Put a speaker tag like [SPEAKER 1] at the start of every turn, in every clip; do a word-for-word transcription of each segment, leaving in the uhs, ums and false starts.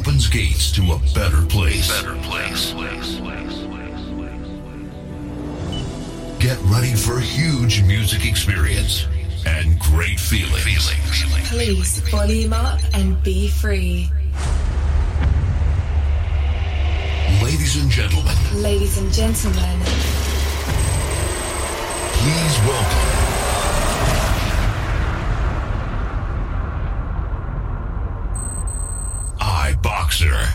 [SPEAKER 1] opens gates to a better place. Better place. Get ready for a huge music experience and great feelings.
[SPEAKER 2] Please volume up and be free.
[SPEAKER 1] Ladies and gentlemen.
[SPEAKER 2] Ladies and gentlemen.
[SPEAKER 1] Please welcome. iBoxer.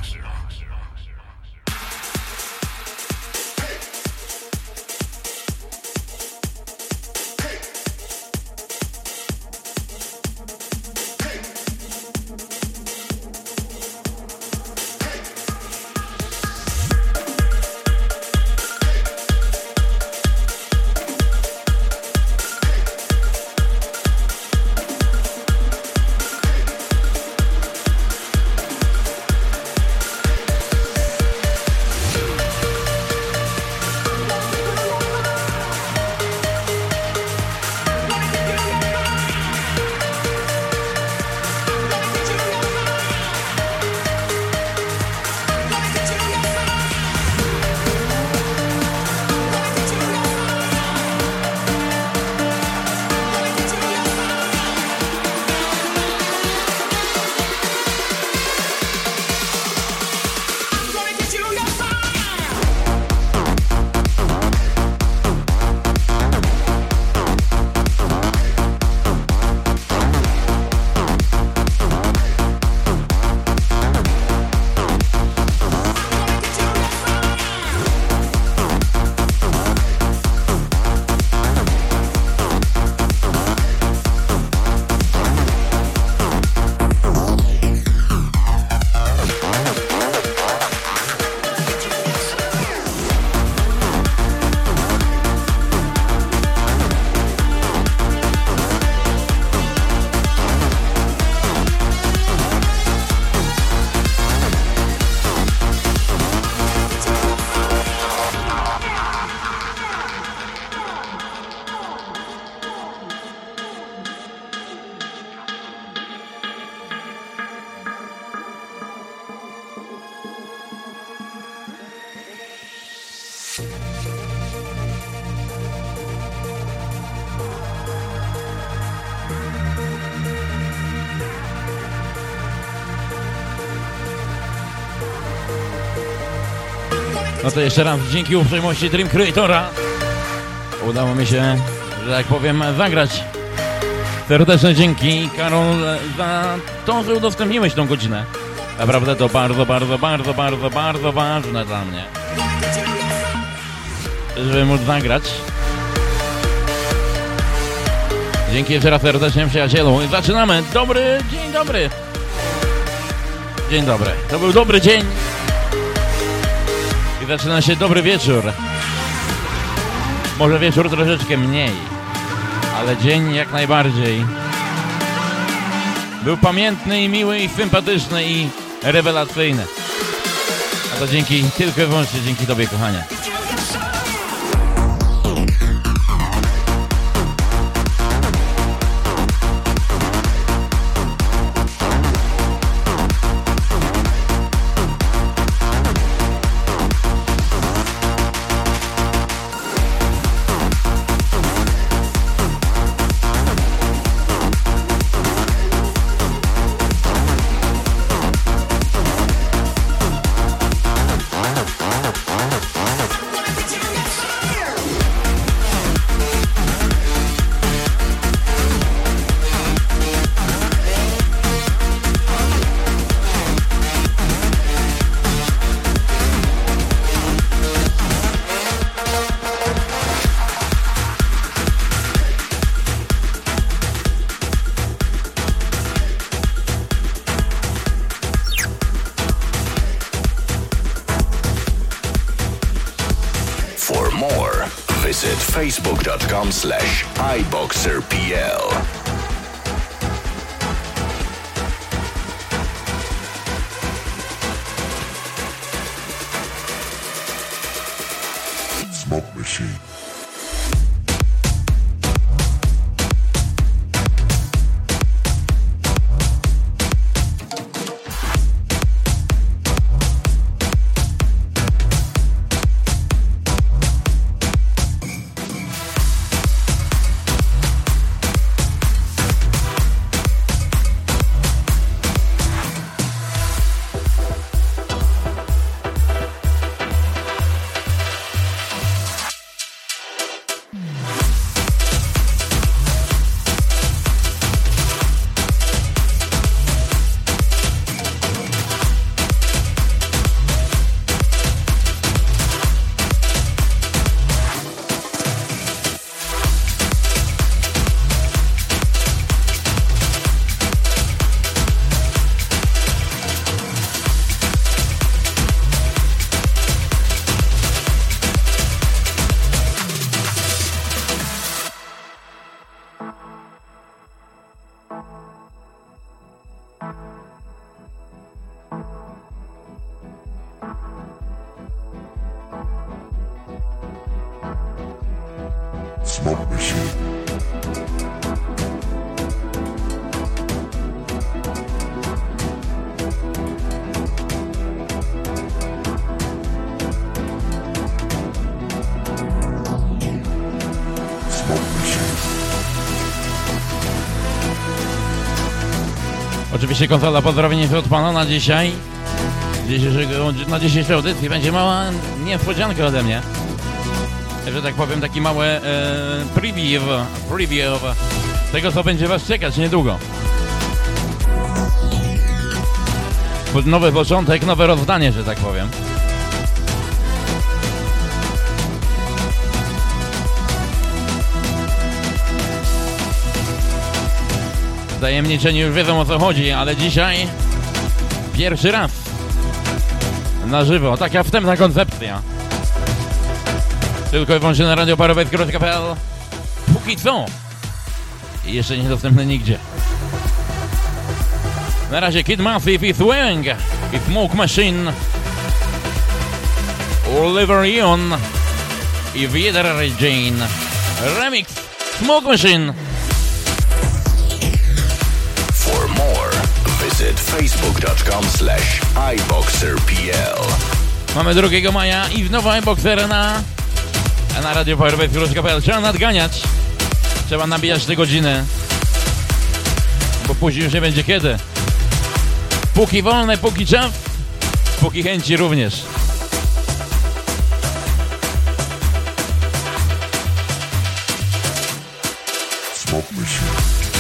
[SPEAKER 3] No to jeszcze raz dzięki uprzejmości Dream Creatora udało mi się, że tak powiem, zagrać. Serdeczne dzięki, Karol, za to, że udostępniłeś tą godzinę. Naprawdę to bardzo, bardzo, bardzo, bardzo, bardzo ważne dla mnie, żeby móc zagrać. Dzięki jeszcze raz serdecznie, przyjacielu. I zaczynamy. Dobry, dzień dobry. Dzień dobry. To był dobry dzień. I zaczyna się dobry wieczór. Może wieczór troszeczkę mniej, ale dzień jak najbardziej. Był pamiętny i miły i sympatyczny i rewelacyjny. A to dzięki, tylko i wyłącznie dzięki Tobie, kochanie.
[SPEAKER 1] facebook.com slash iBoxerPL. Smoke machine.
[SPEAKER 3] Oczywiście konsola pozdrowienie od pana na dzisiaj. Na dzisiejszej audycji będzie mała niespodzianka ode mnie. Że tak powiem, taki mały e, preview, preview tego, co będzie was czekać niedługo. Nowy początek, nowe rozdanie, że tak powiem. Tajemniczeni już wiedzą, o co chodzi, ale dzisiaj pierwszy raz na żywo, taka wstępna koncepcja. Tylko i wyłącznie na radio parowe kropka p l. Póki co. I jeszcze niedostępne nigdzie. Na razie Kid Massive i Swing i Smoke Machine, Oliver Ion i Wieder Jane. Remix Smoke Machine.
[SPEAKER 1] For more, visit facebook dot com slash iboxer dot p l.
[SPEAKER 3] Mamy drugiego maja i znowu iBoxer na, na radio parowe kropka p l. Trzeba nadganiać. Trzeba nabijać te godziny, bo później już nie będzie kiedy. Póki wolne, póki czas, póki chęci również.
[SPEAKER 1] Smoke Machine.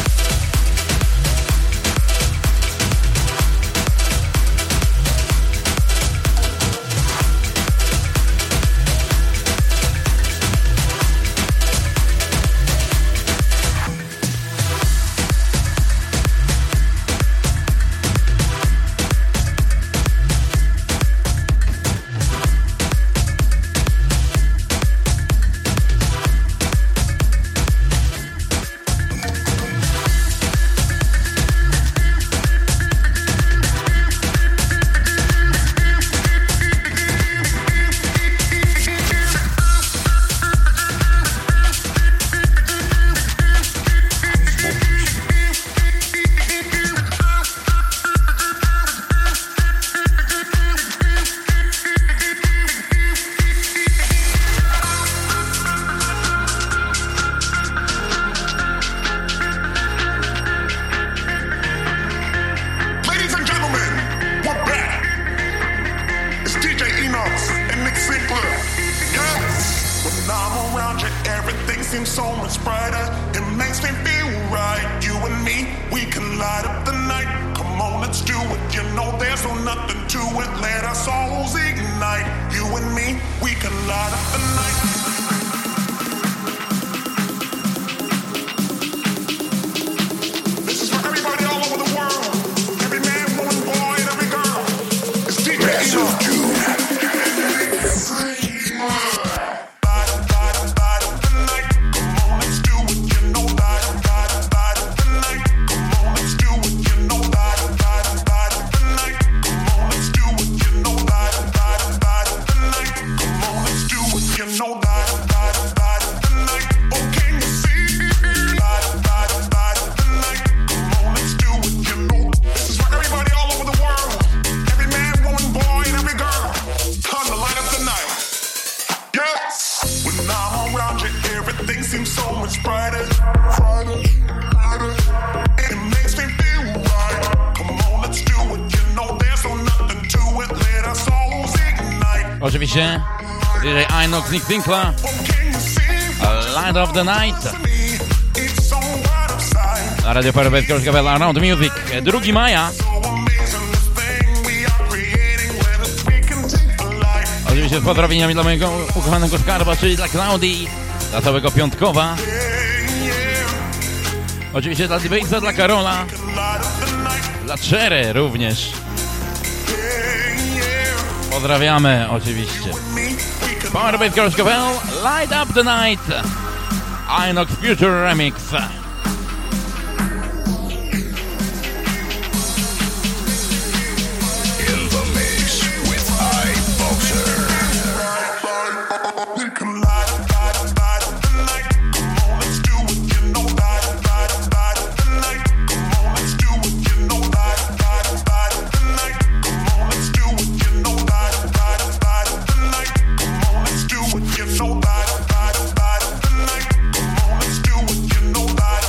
[SPEAKER 3] Oczywiście D J Inox, Nick Winkler, Light of the Night. Na radio parowe kropka p l Around Music, drugiego maja. Oczywiście z pozdrowieniami dla mojego ukochanego skarba, czyli dla Klaudii, dla całego Piątkowa. Oczywiście dla Dibejsa, dla Karola, dla Czery również. Pozdrawiamy oczywiście. Powerbase kropka p l, Light Up the Night, Inox Future Remix.
[SPEAKER 1] In the mix with iBoxer.
[SPEAKER 4] You know that.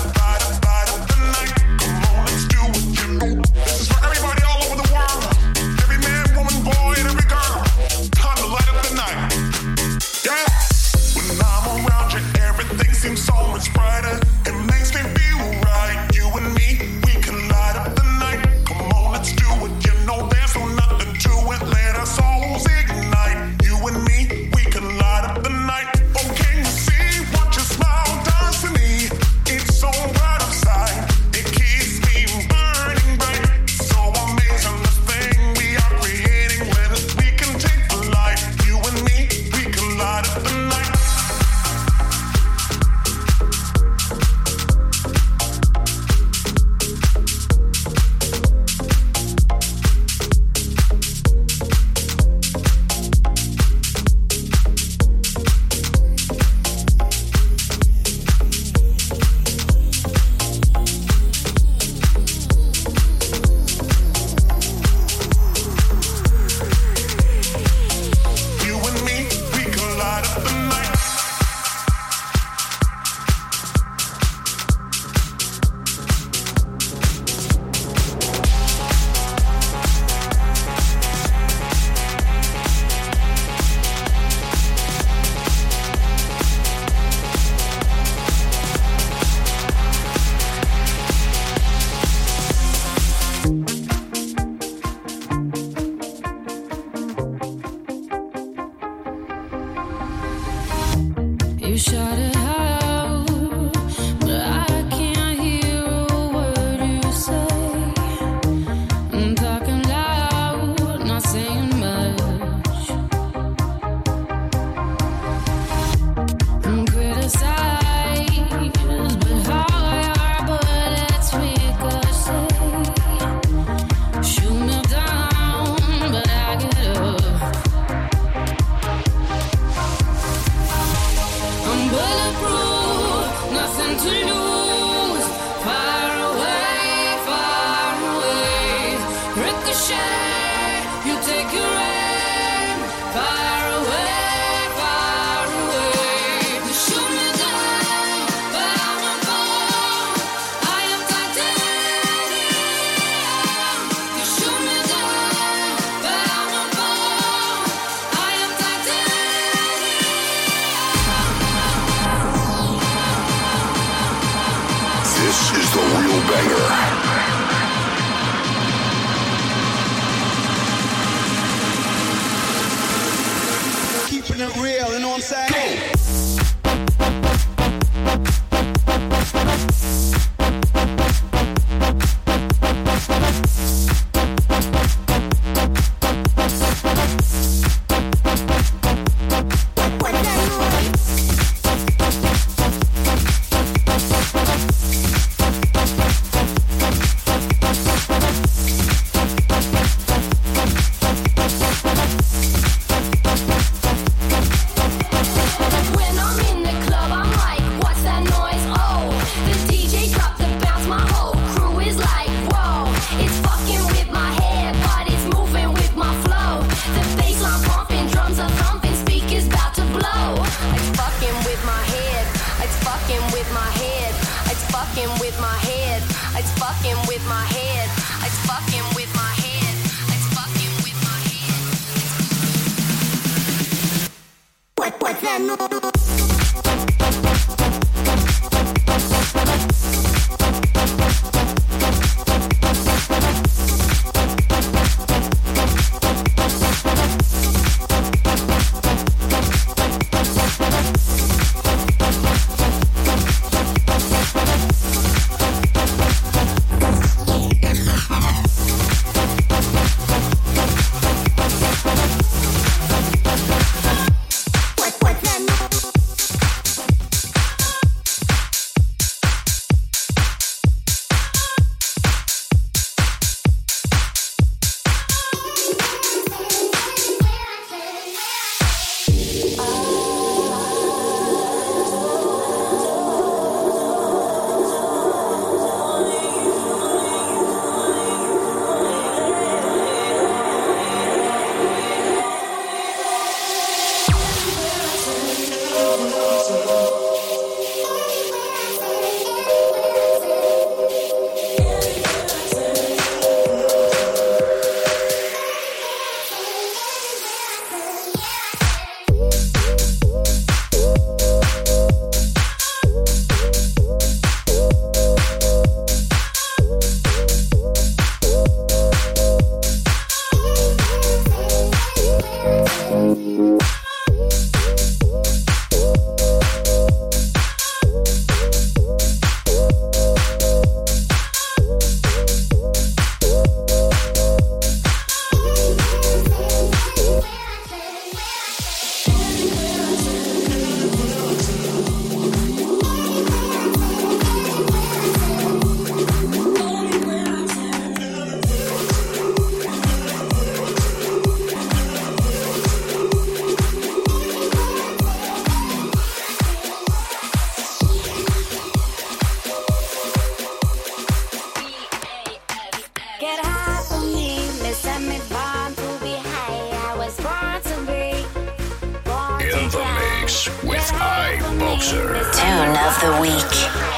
[SPEAKER 4] Tune of the week.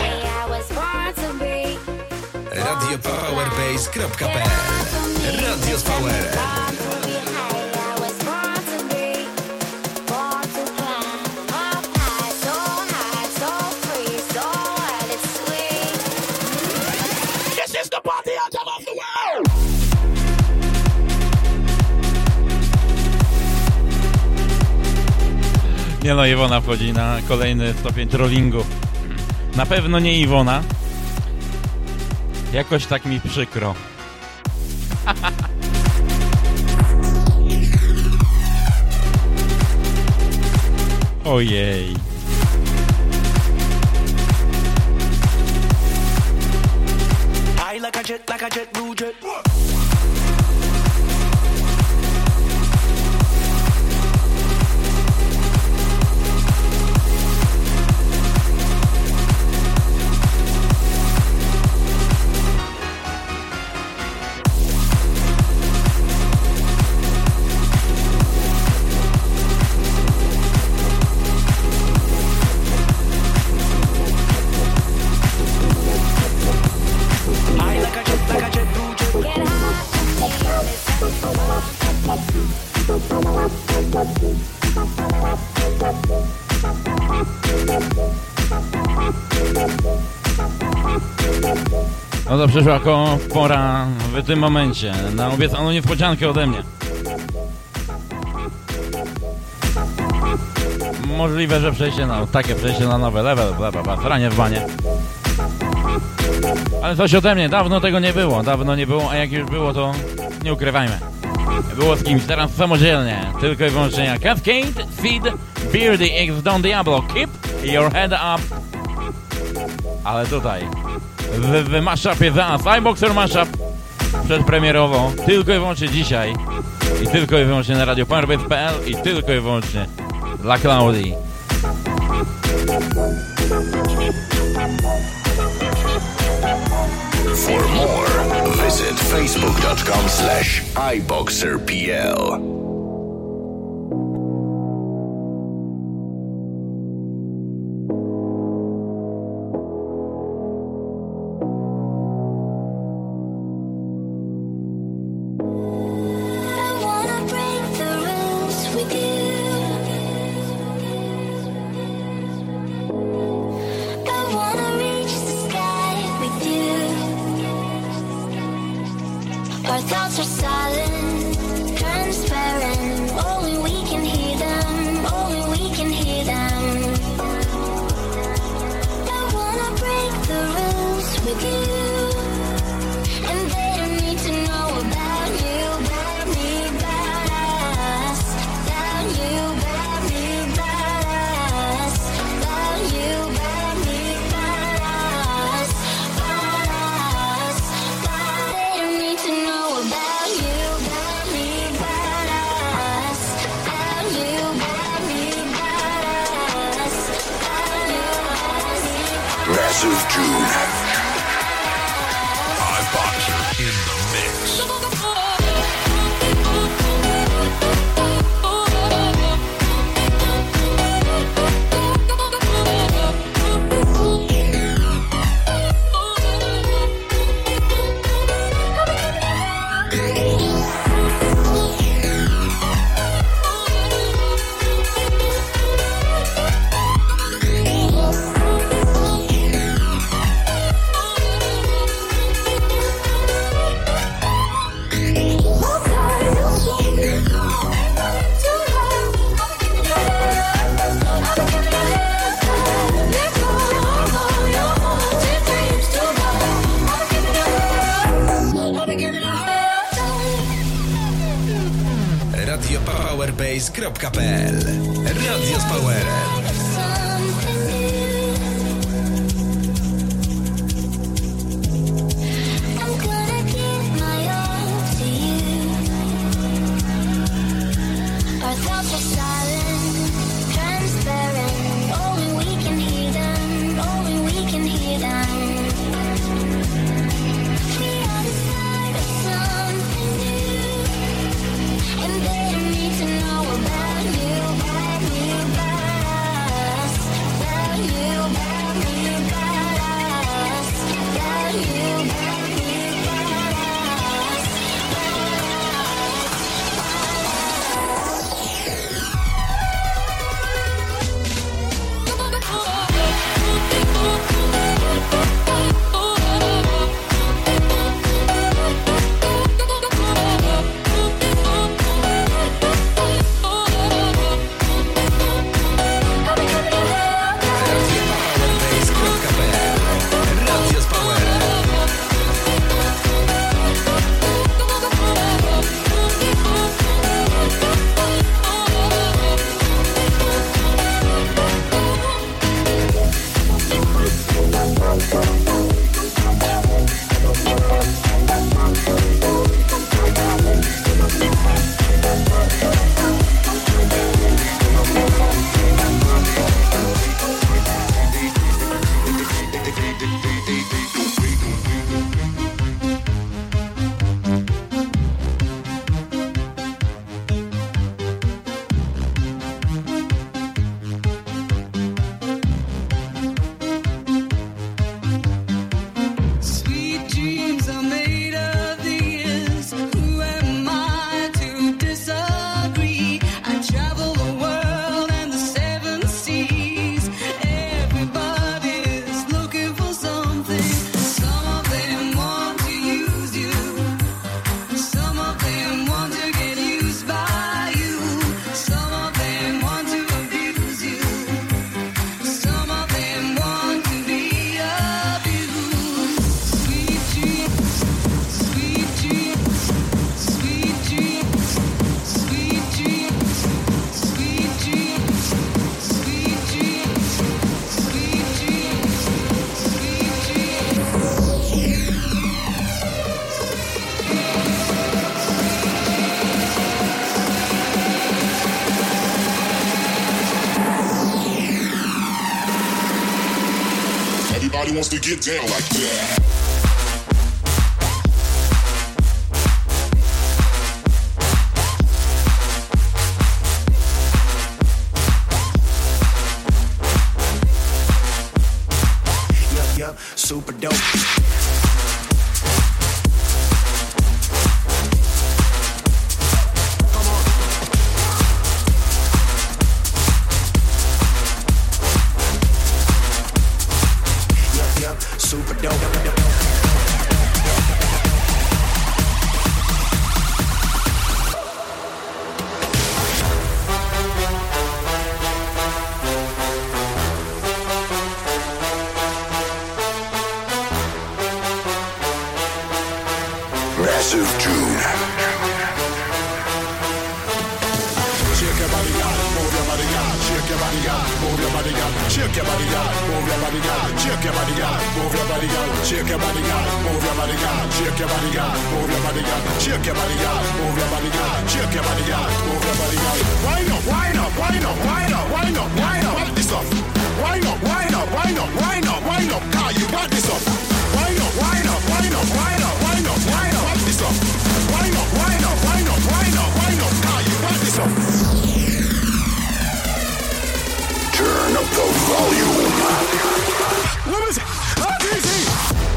[SPEAKER 5] radio powerbase kropka p l. Radio z Powerem.
[SPEAKER 3] Nie no, Iwona wchodzi na kolejny stopień trollingu. Na pewno nie Iwona. Jakoś tak mi przykro. Ojej.
[SPEAKER 4] I like a jet, like a jet, blue jet.
[SPEAKER 3] No to przyszła pora w tym momencie na obiecaną niespodziankę ode mnie. Możliwe, że przejście na takie przejście na nowy level, bla bla bla, sranie w banie. Ale coś ode mnie, dawno tego nie było, dawno nie było, a jak już było, to nie ukrywajmy. Było z kimś, teraz samodzielnie, tylko i wyłącznie jak Cascade, Seed, Beardy, X Don Diablo, Keep Your Head Up. Ale tutaj, w, w mashupie za iBoxer Mashup, przedpremierowo, tylko i wyłącznie dzisiaj, i tylko i wyłącznie na radio powerbase kropka p l, i tylko i wyłącznie dla Klaudii.
[SPEAKER 1] For more, visit facebook.com slash iBoxerPL.
[SPEAKER 6] Our thoughts are silent, transparent. Only we can hear them, only we can hear them. I wanna break the rules with you, and they don't need to know about you, about me, about us, about you, about me, about us, about you, about me, about us, about us, about they don't need to know about you, about me, about us, about you, about me, about us, about you, about me.
[SPEAKER 1] Massive June. iBoxer in the mix.
[SPEAKER 5] radio powerbase kropka p l. Radio z Powerem.
[SPEAKER 7] wants to get down like that.
[SPEAKER 4] Super dope. Come on. Yup, yup, super dope.
[SPEAKER 1] Massive June.
[SPEAKER 7] Shake your body, girl. Move your body, girl. Shake your body, girl. Move your body, girl. Shake your body, girl. Move your body, girl. Shake your body, girl. Move your body, girl. Shake your body, girl. Move your body, girl. Shake your body, girl. Move your body, girl. Shake your body, girl. Move your body, girl. Shake your body, girl. Move your body, girl. Wind up, wind up, wind up, wind up, wind up, wind up. Wind this up. Wind up, wind up, wind up, wind up, wind up. Car, you got this up. Wind up, wind up, wind up, wind up, wind up, wind up. Wind this up. Wind up, wind up, wind up, wind up, wind up. Car, you got this up.
[SPEAKER 1] Turn up the volume.
[SPEAKER 7] What is it? Not easy.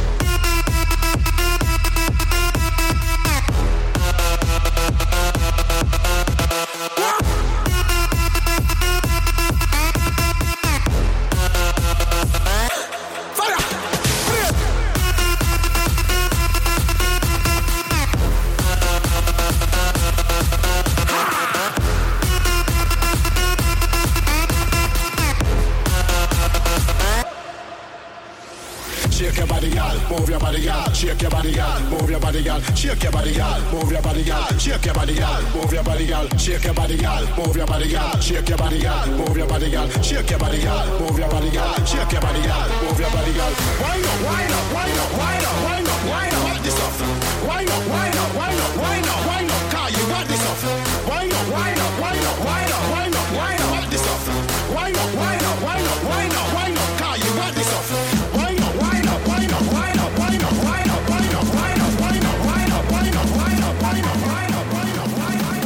[SPEAKER 7] Shake your body, girl. Move your body, girl. Shake your body, girl. Move your body, girl. Shake your body, girl. Move your body, girl. Shake your body, girl. Move your body, girl. Shake your body, girl. Move your body, girl. Shake your body, girl. Move your body, girl. Shake your body, girl. Move your body, girl. Shake your body, girl. Move your body, girl. Wind up, wind up, wind up, wind up, wind up, wind up. What this up? Wind up, wind up, wind up, wind up, wind up. Car, you got this up. Wind up, wind up, wind up, wind up, wind up, wind up. What this up? Wind up, wind up, wind up, wind up, wind up. Car, you got this up. Wind up, wind up, wind up, wind up, wind up, wind up, wind up, wind up, wind up, wind up, wind up, wind up, wind up, wind up, wind up, wind up.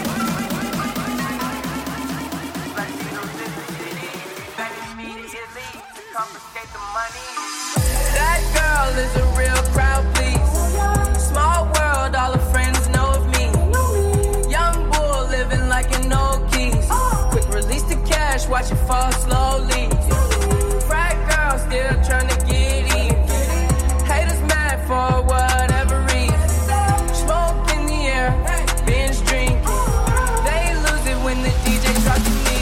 [SPEAKER 8] That girl is a real crowd, please. Small world, all her friends know of me. Young bull living like an old geese. Quick release the cash, watch it fall slowly. Frat girl still trying to get in. Haters mad for whatever reason. Smoke in the air, binge drinking. They lose it when the D J drops the knee.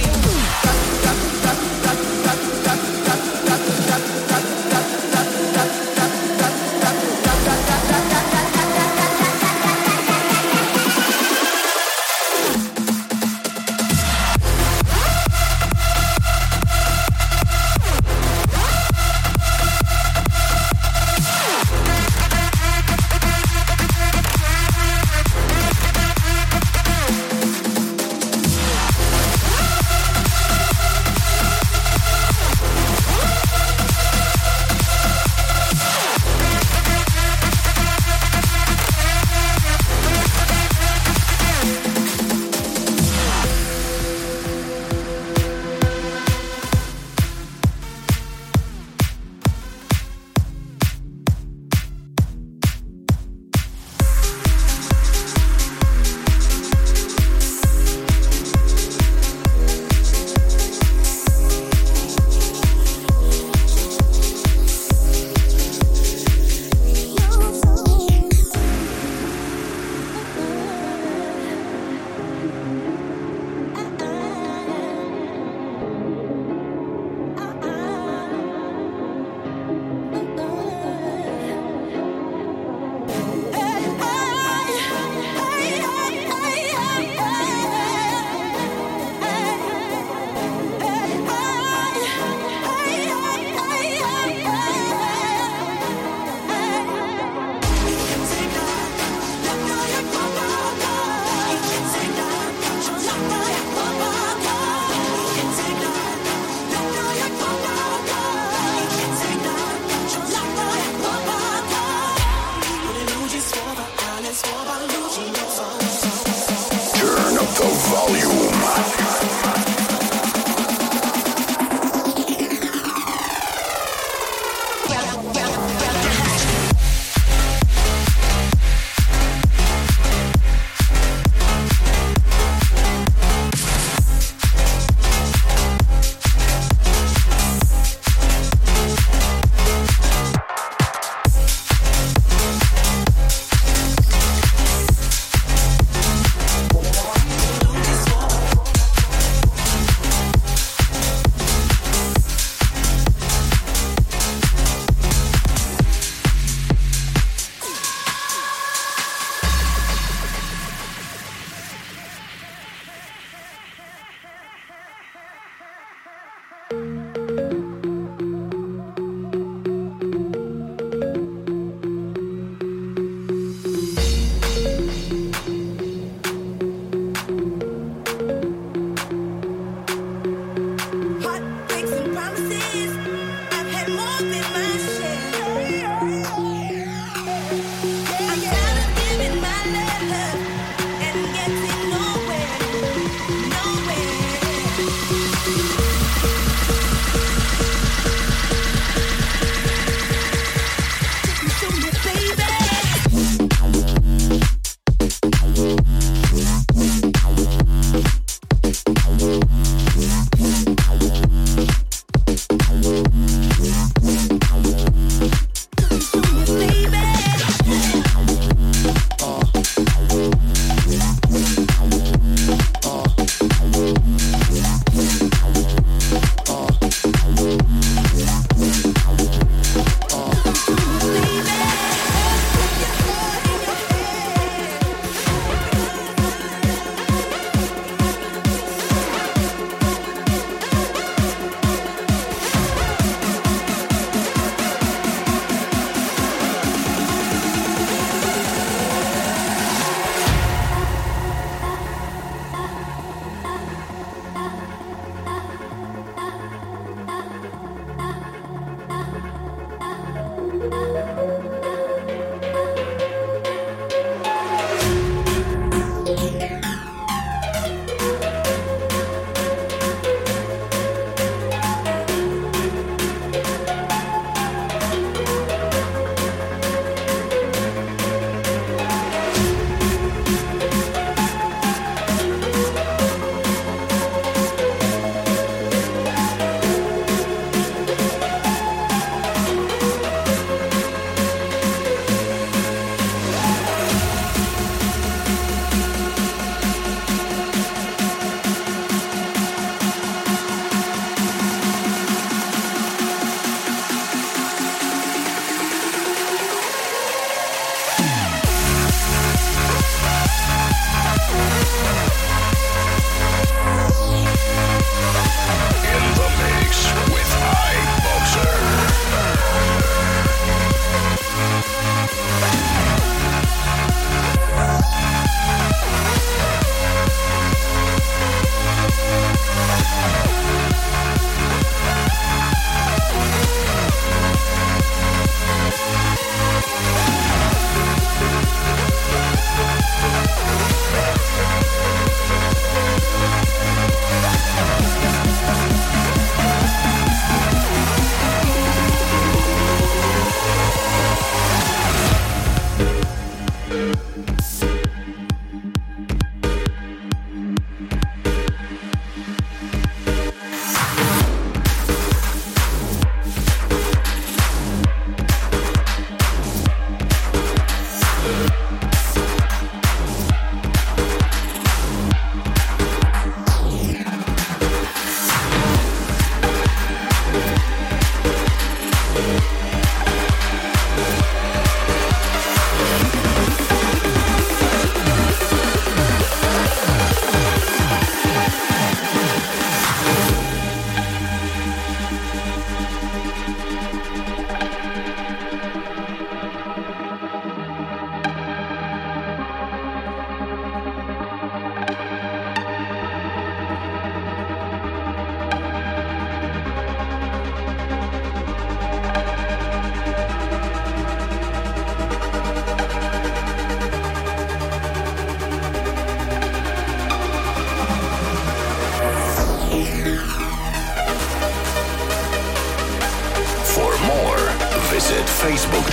[SPEAKER 9] This one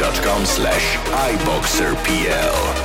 [SPEAKER 5] dot com slash iboxerpl.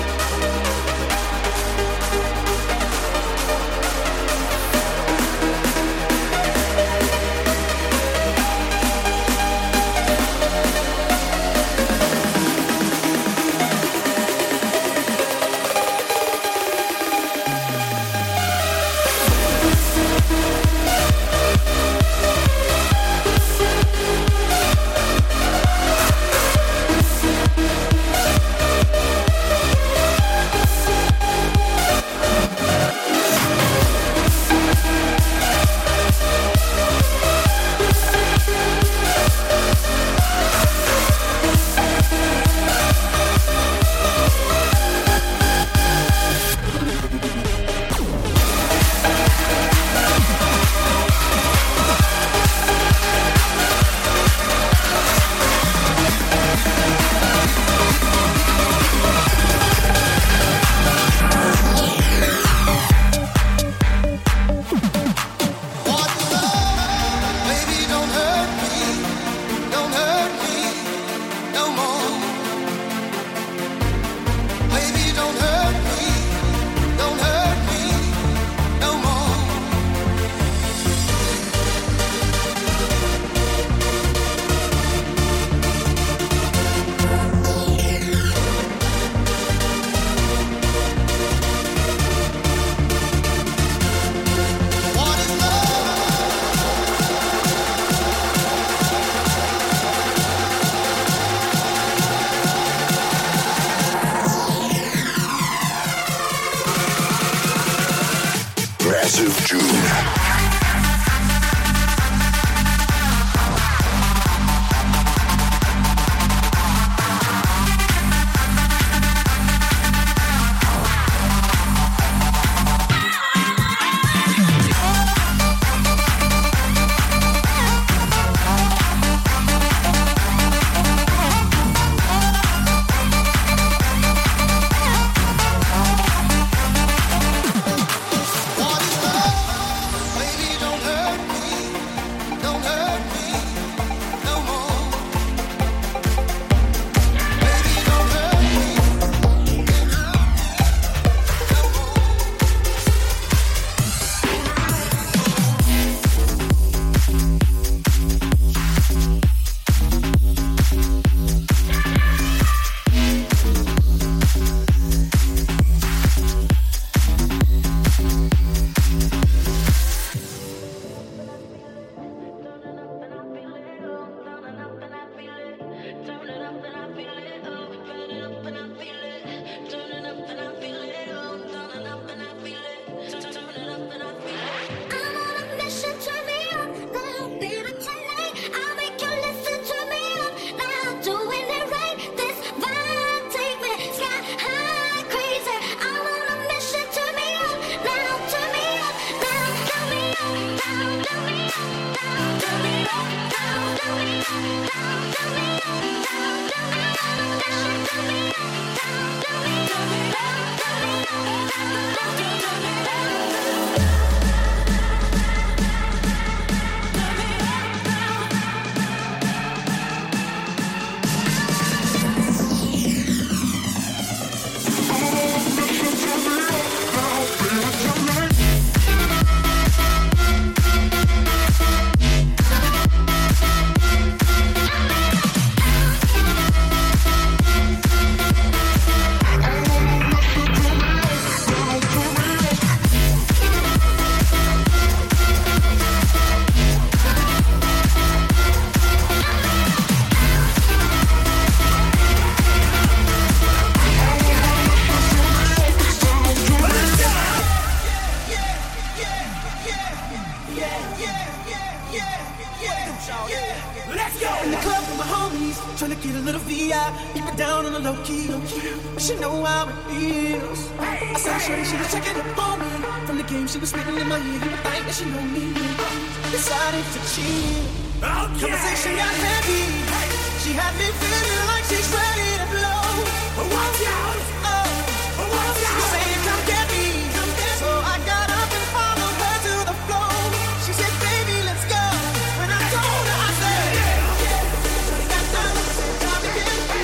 [SPEAKER 9] Conversation got heavy. She had me feeling like she's ready to blow. Watch out! Oh, watch out! She's saying, "Come get me." So I got up and followed her to the floor. She said, "Baby, let's go." When I told her, I said, "Yeah, yeah." Got done, said, "Time to get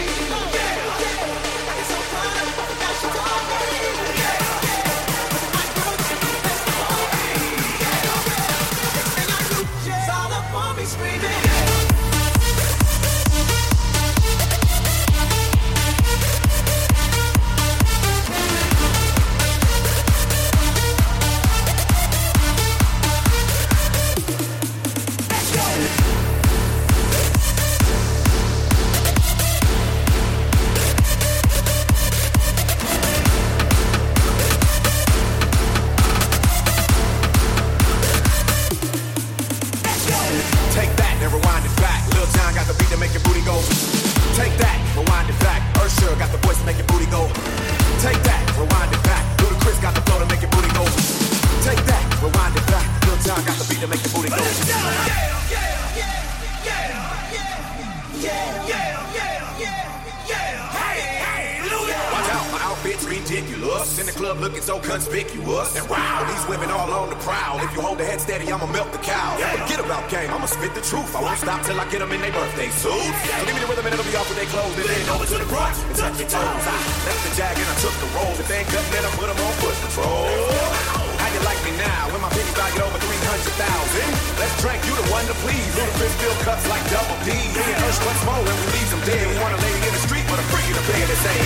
[SPEAKER 10] club looking so conspicuous. And wow, these women all on the prowl. If you hold the head steady, I'ma melt the cow. Forget about game, I'ma spit the truth. I won't stop till I get them in their birthday suits. So give me the rhythm and it'll be off with their clothes. And then over to the front and touch your toes. I left the jag and I took the rolls. If they ain't cutting it, I put them on foot control. How you like me now when my penny valued over three hundred thousand? Let's drink, you the one to please. Ludacris fill cups like double D. Me and Ursh what's more when we leave them dead. We want a lady in the street but a freak in the bed to say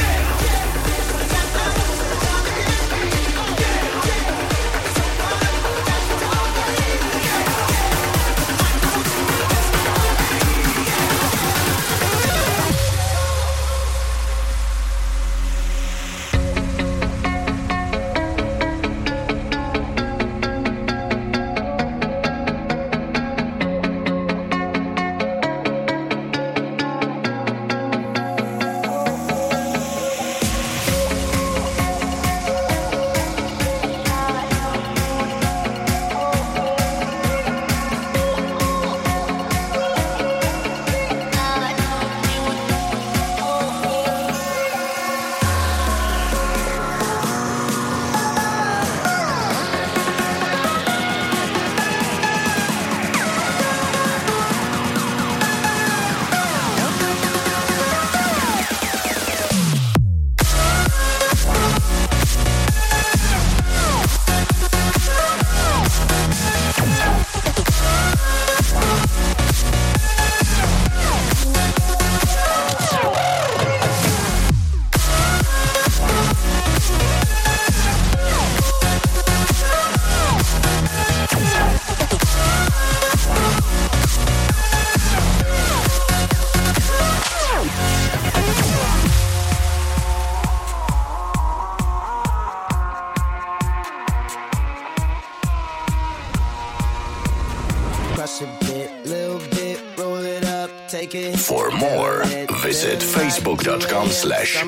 [SPEAKER 1] For more, visit facebook.com slash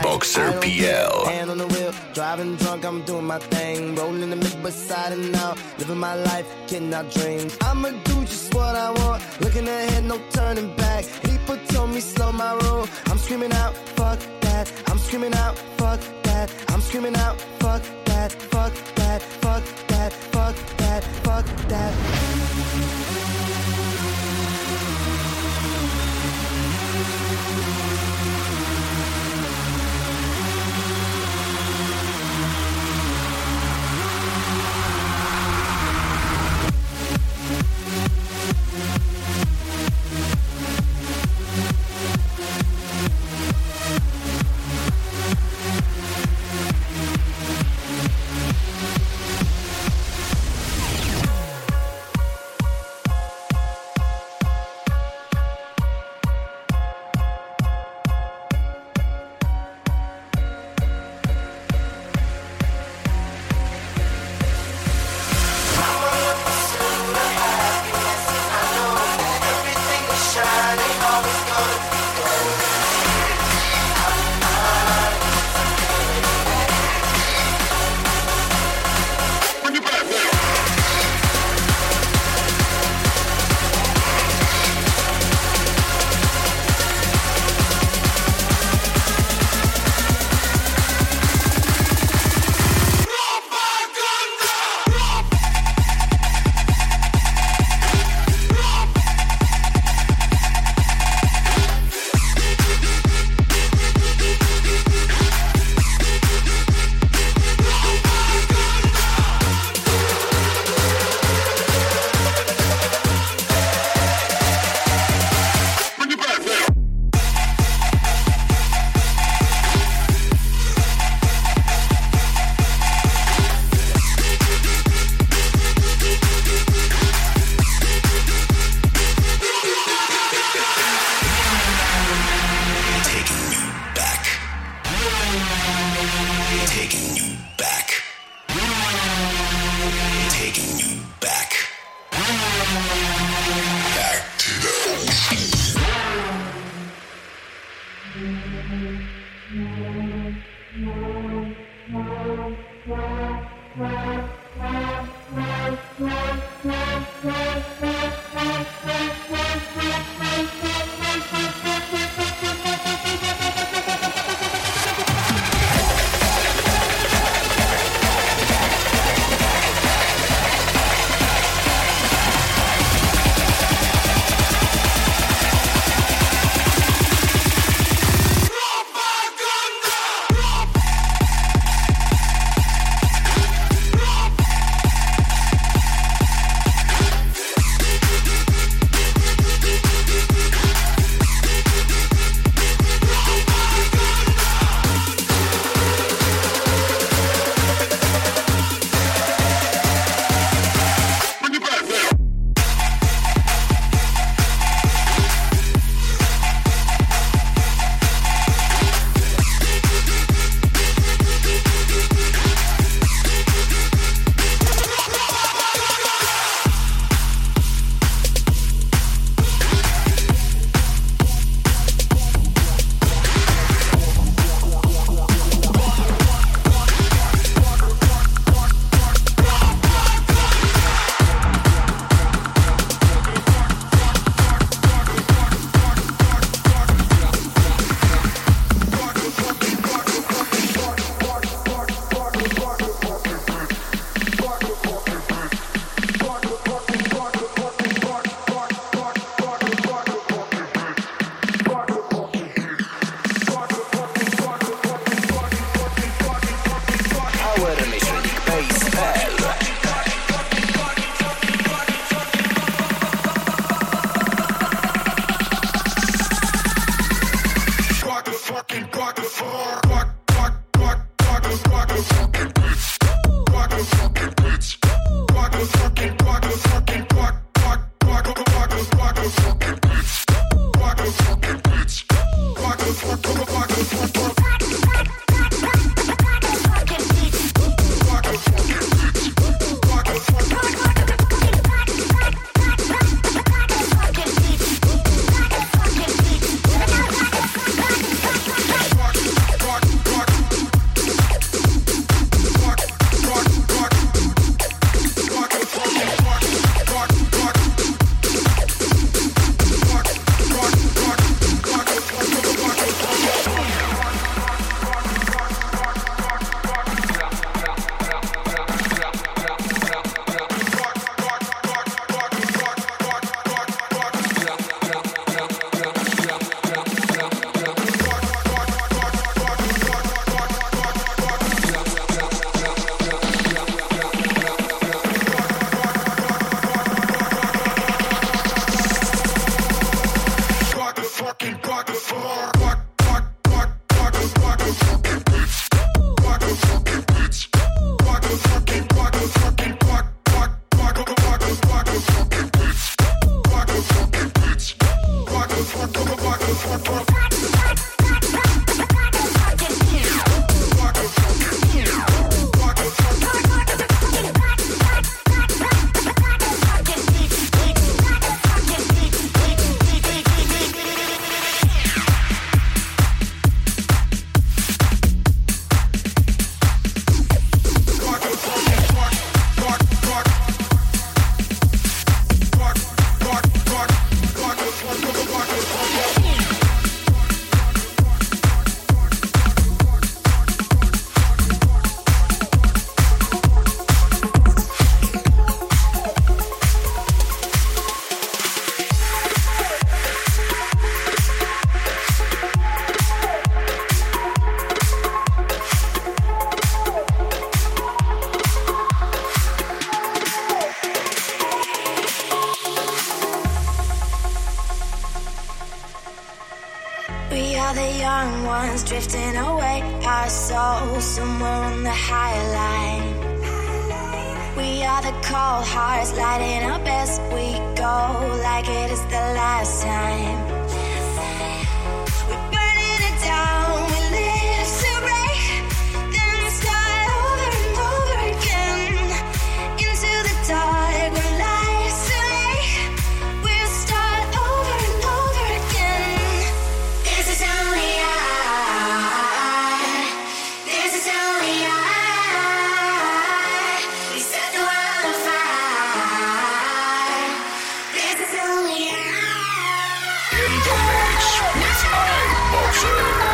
[SPEAKER 1] iBoxerPL.
[SPEAKER 9] Hand on the wheel, driving drunk, I'm doing my thing. Rolling the mid beside and out, living my life, getting out dreams. I'ma do just what I want, looking ahead, no turning back. People told me slow my roll, I'm screaming out, fuck that. I'm screaming out, fuck that. I'm screaming out, fuck that, fuck that, fuck that, fuck that, fuck that.
[SPEAKER 6] young ones drifting away, our souls somewhere on the higher line. We are the cold hearts lighting up as we go, like it is the last time. We're burning it down, we live to break, then start over and over again. Into the dark, we're lights to make, we'll start over and over again. This is only I, this is only I. We set the world on fire. This is only I.
[SPEAKER 1] In the mix with iBoxer.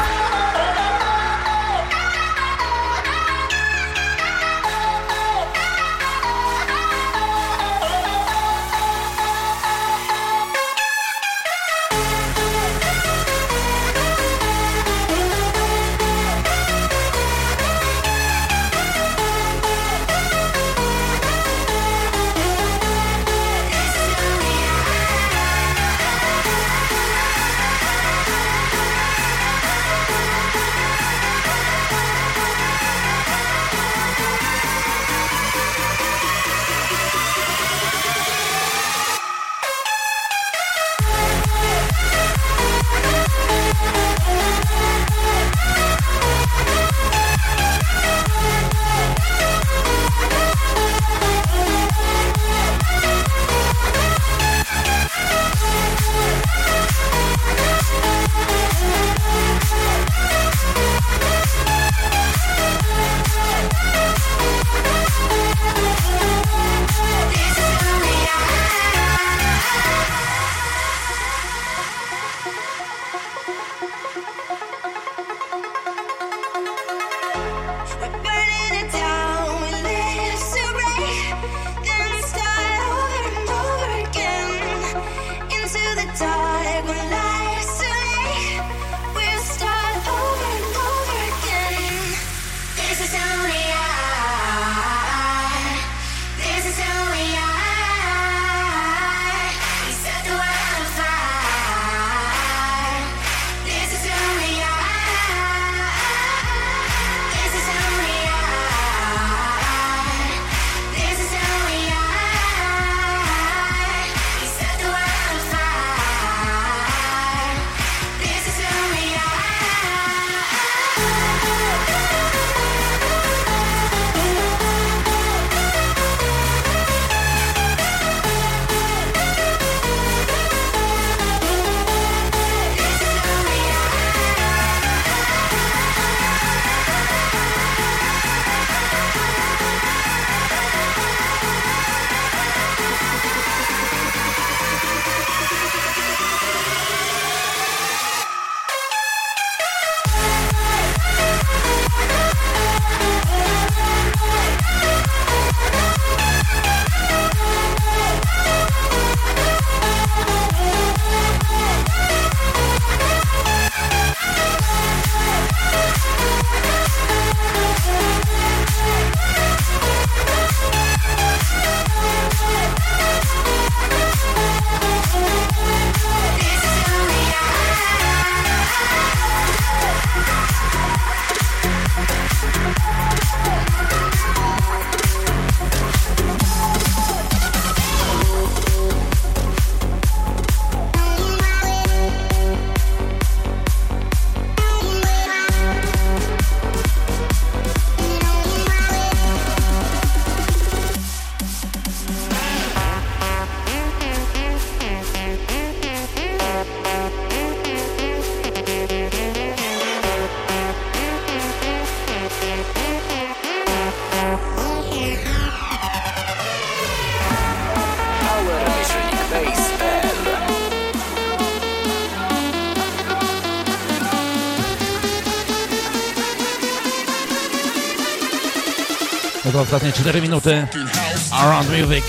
[SPEAKER 3] No to ostatnie cztery minuty. Around Music.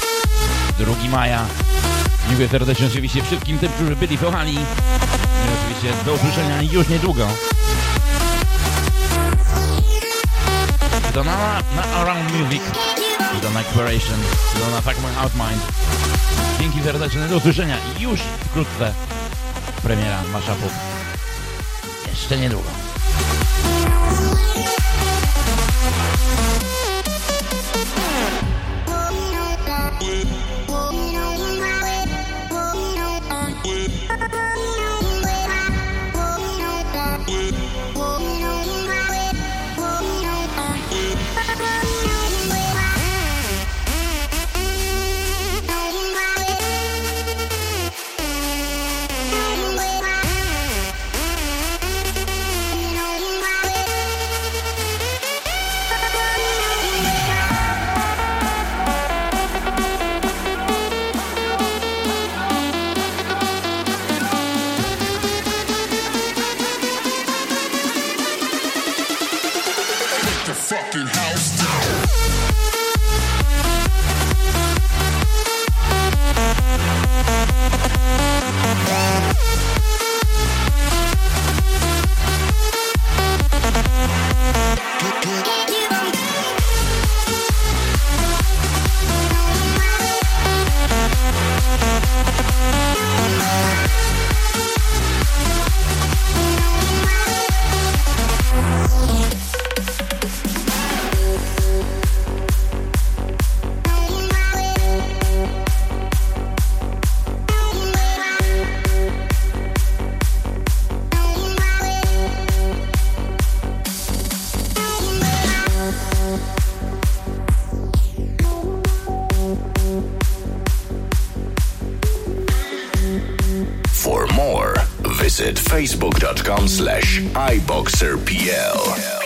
[SPEAKER 3] drugiego maja. Dziękuję serdecznie oczywiście wszystkim tym, którzy byli, słuchali. I oczywiście do usłyszenia już niedługo. To na, na Around Music. To na Exploration. To na Fuck My Out Mind. Dzięki serdeczne, do usłyszenia. Już wkrótce premiera mashupów. jeszcze niedługo.
[SPEAKER 1] Facebook dot com slash iBoxerPL.